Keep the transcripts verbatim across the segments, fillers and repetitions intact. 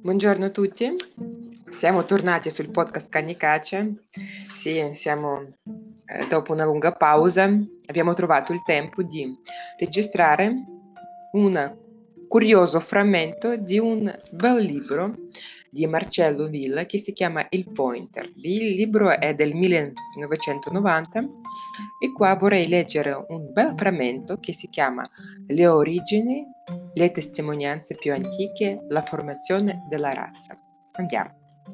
Buongiorno a tutti, siamo tornati sul podcast Cani Caccia. Sì, siamo eh, dopo una lunga pausa, abbiamo trovato il tempo di registrare un curioso frammento di un bel libro di Marcello Villa che si chiama Il Pointer. Il libro è del millenovecentonovanta e qua vorrei leggere un bel frammento che si chiama Le origini, le testimonianze più antiche, la formazione della razza. Andiamo.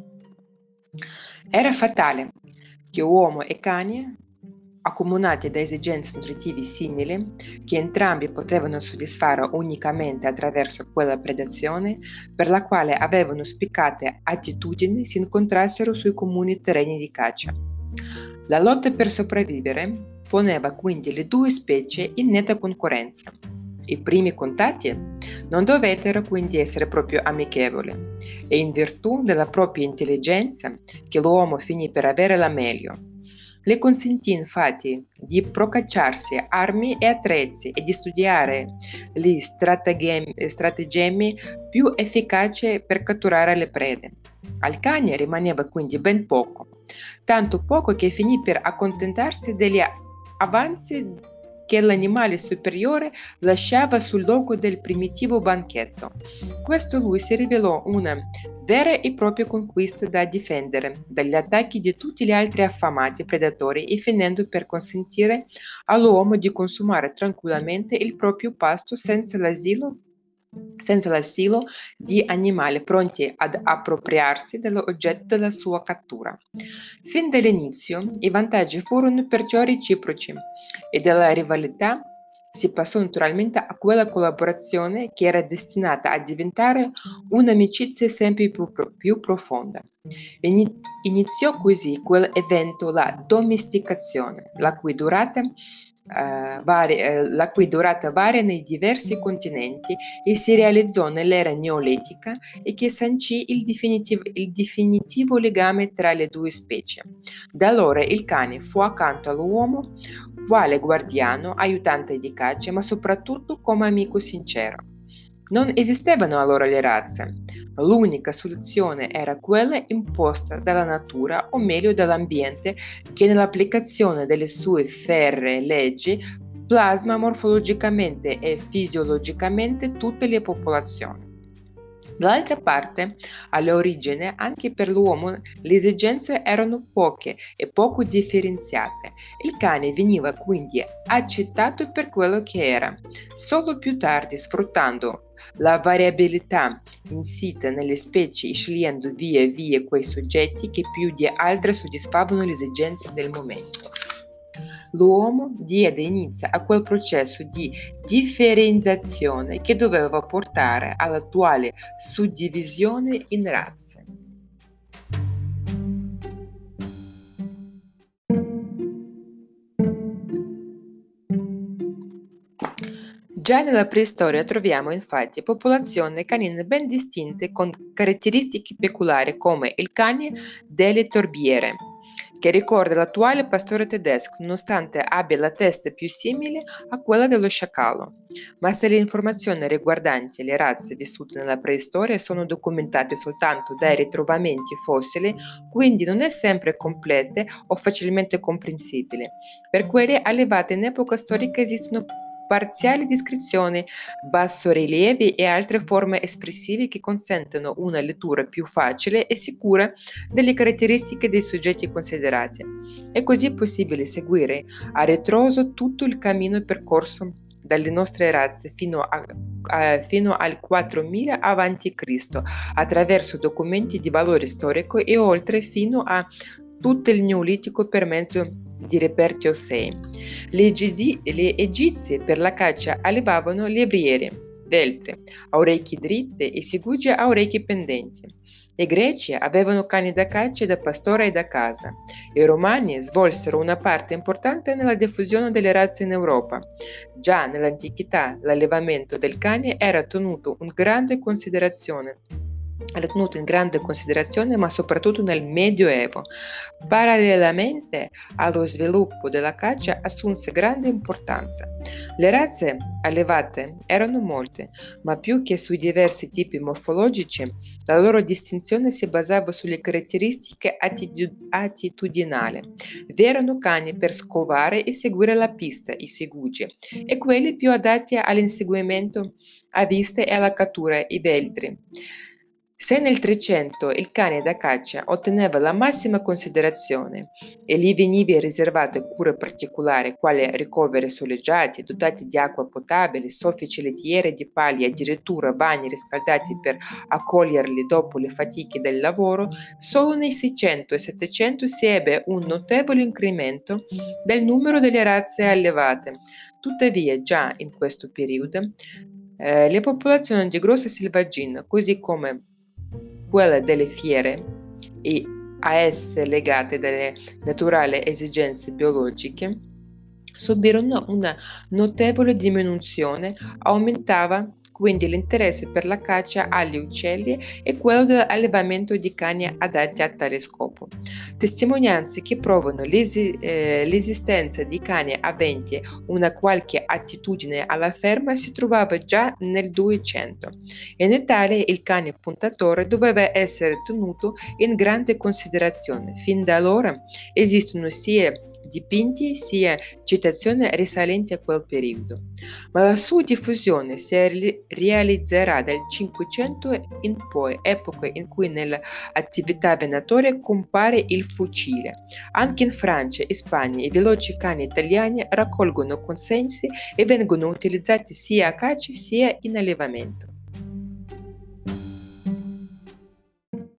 Era fatale che uomo e cani, accomunati da esigenze nutritive simili, che entrambi potevano soddisfare unicamente attraverso quella predazione per la quale avevano spiccate attitudini, si incontrassero sui comuni terreni di caccia. La lotta per sopravvivere poneva quindi le due specie in netta concorrenza. I primi contatti non dovettero quindi essere proprio amichevoli e in virtù della propria intelligenza che l'uomo finì per avere la meglio. Le consentì infatti di procacciarsi armi e attrezzi e di studiare gli strategemi, strategemi più efficaci per catturare le prede. Al cane rimaneva quindi ben poco, tanto poco che finì per accontentarsi degli avanzi che l'animale superiore lasciava sul luogo del primitivo banchetto. Questo lui si rivelò una vera e propria conquista da difendere dagli attacchi di tutti gli altri affamati predatori e finendo per consentire all'uomo di consumare tranquillamente il proprio pasto senza l'asilo senza l'asilo di animali pronti ad appropriarsi dell'oggetto della sua cattura. Fin dall'inizio i vantaggi furono perciò reciproci e dalla rivalità si passò naturalmente a quella collaborazione che era destinata a diventare un'amicizia sempre più, più profonda. Ini- iniziò così quell'evento, la domesticazione, la cui durata Uh, vari, uh, la cui durata varia nei diversi continenti e si realizzò nell'era neolitica e che sancì il definitivo, il definitivo legame tra le due specie. Da allora il cane fu accanto all'uomo quale guardiano, aiutante di caccia, ma soprattutto come amico sincero. Non esistevano allora le razze. L'unica soluzione era quella imposta dalla natura, o meglio dall'ambiente, che nell'applicazione delle sue ferree leggi plasma morfologicamente e fisiologicamente tutte le popolazioni. Dall'altra parte, all'origine, anche per l'uomo le esigenze erano poche e poco differenziate. Il cane veniva quindi accettato per quello che era. Solo più tardi, sfruttando la variabilità insita nelle specie e scegliendo via via quei soggetti che più di altri soddisfavano le esigenze del momento, l'uomo diede inizio a quel processo di differenziazione che doveva portare all'attuale suddivisione in razze. Già nella preistoria troviamo infatti popolazioni canine ben distinte con caratteristiche peculiari come il cane delle torbiere, che ricorda l'attuale pastore tedesco nonostante abbia la testa più simile a quella dello sciacallo. Ma se le informazioni riguardanti le razze vissute nella preistoria sono documentate soltanto dai ritrovamenti fossili, quindi non è sempre complete o facilmente comprensibile. Per quelle allevate in epoca storica esistono parziali descrizioni, bassorilievi e altre forme espressive che consentono una lettura più facile e sicura delle caratteristiche dei soggetti considerati. È così possibile seguire a ritroso tutto il cammino percorso dalle nostre razze fino, a, a, fino al quattromila avanti Cristo attraverso documenti di valore storico e oltre fino a tutto il Neolitico per mezzo di reperti ossei. Le, Egizi, le egizie per la caccia allevavano levrieri, veltre, a orecchie dritte e segugi a orecchie pendenti. I greci avevano cani da caccia, da pastore e da casa. I romani svolsero una parte importante nella diffusione delle razze in Europa. Già nell'antichità l'allevamento del cane era tenuto in grande considerazione era tenuto in grande considerazione, ma soprattutto nel Medioevo. Parallelamente allo sviluppo della caccia assunse grande importanza. Le razze allevate erano molte, ma più che sui diversi tipi morfologici, la loro distinzione si basava sulle caratteristiche attitu- attitudinali. Vi erano cani per scovare e seguire la pista, i segugi, e quelli più adatti all'inseguimento a vista e alla cattura, i veltri. Se nel Trecento il cane da caccia otteneva la massima considerazione e gli veniva riservata cure particolari quali ricoveri soleggiati, dotati di acqua potabile, soffici lettiere di paglia e addirittura bagni riscaldati per accoglierli dopo le fatiche del lavoro, solo nei Seicento e Settecento si ebbe un notevole incremento del numero delle razze allevate. Tuttavia, già in questo periodo, eh, le popolazioni di grossa selvaggina, così come quelle delle fiere e a esse legate dalle naturali esigenze biologiche, subirono una notevole diminuzione, aumentava quindi l'interesse per la caccia agli uccelli e quello dell'allevamento di cani adatti a tale scopo. Testimonianze che provano l'esi- eh, l'esistenza di cani aventi una qualche attitudine alla ferma si trovava già nel Duecento. In Italia il cane puntatore doveva essere tenuto in grande considerazione. Fin da allora esistono sia dipinti sia citazioni risalenti a quel periodo, ma la sua diffusione si ri- realizzerà dal Cinquecento in poi, epoca in cui nelle attività venatorie compare il fucile. Anche in Francia e Spagna i veloci cani italiani raccolgono consensi e vengono utilizzati sia a caccia sia in allevamento.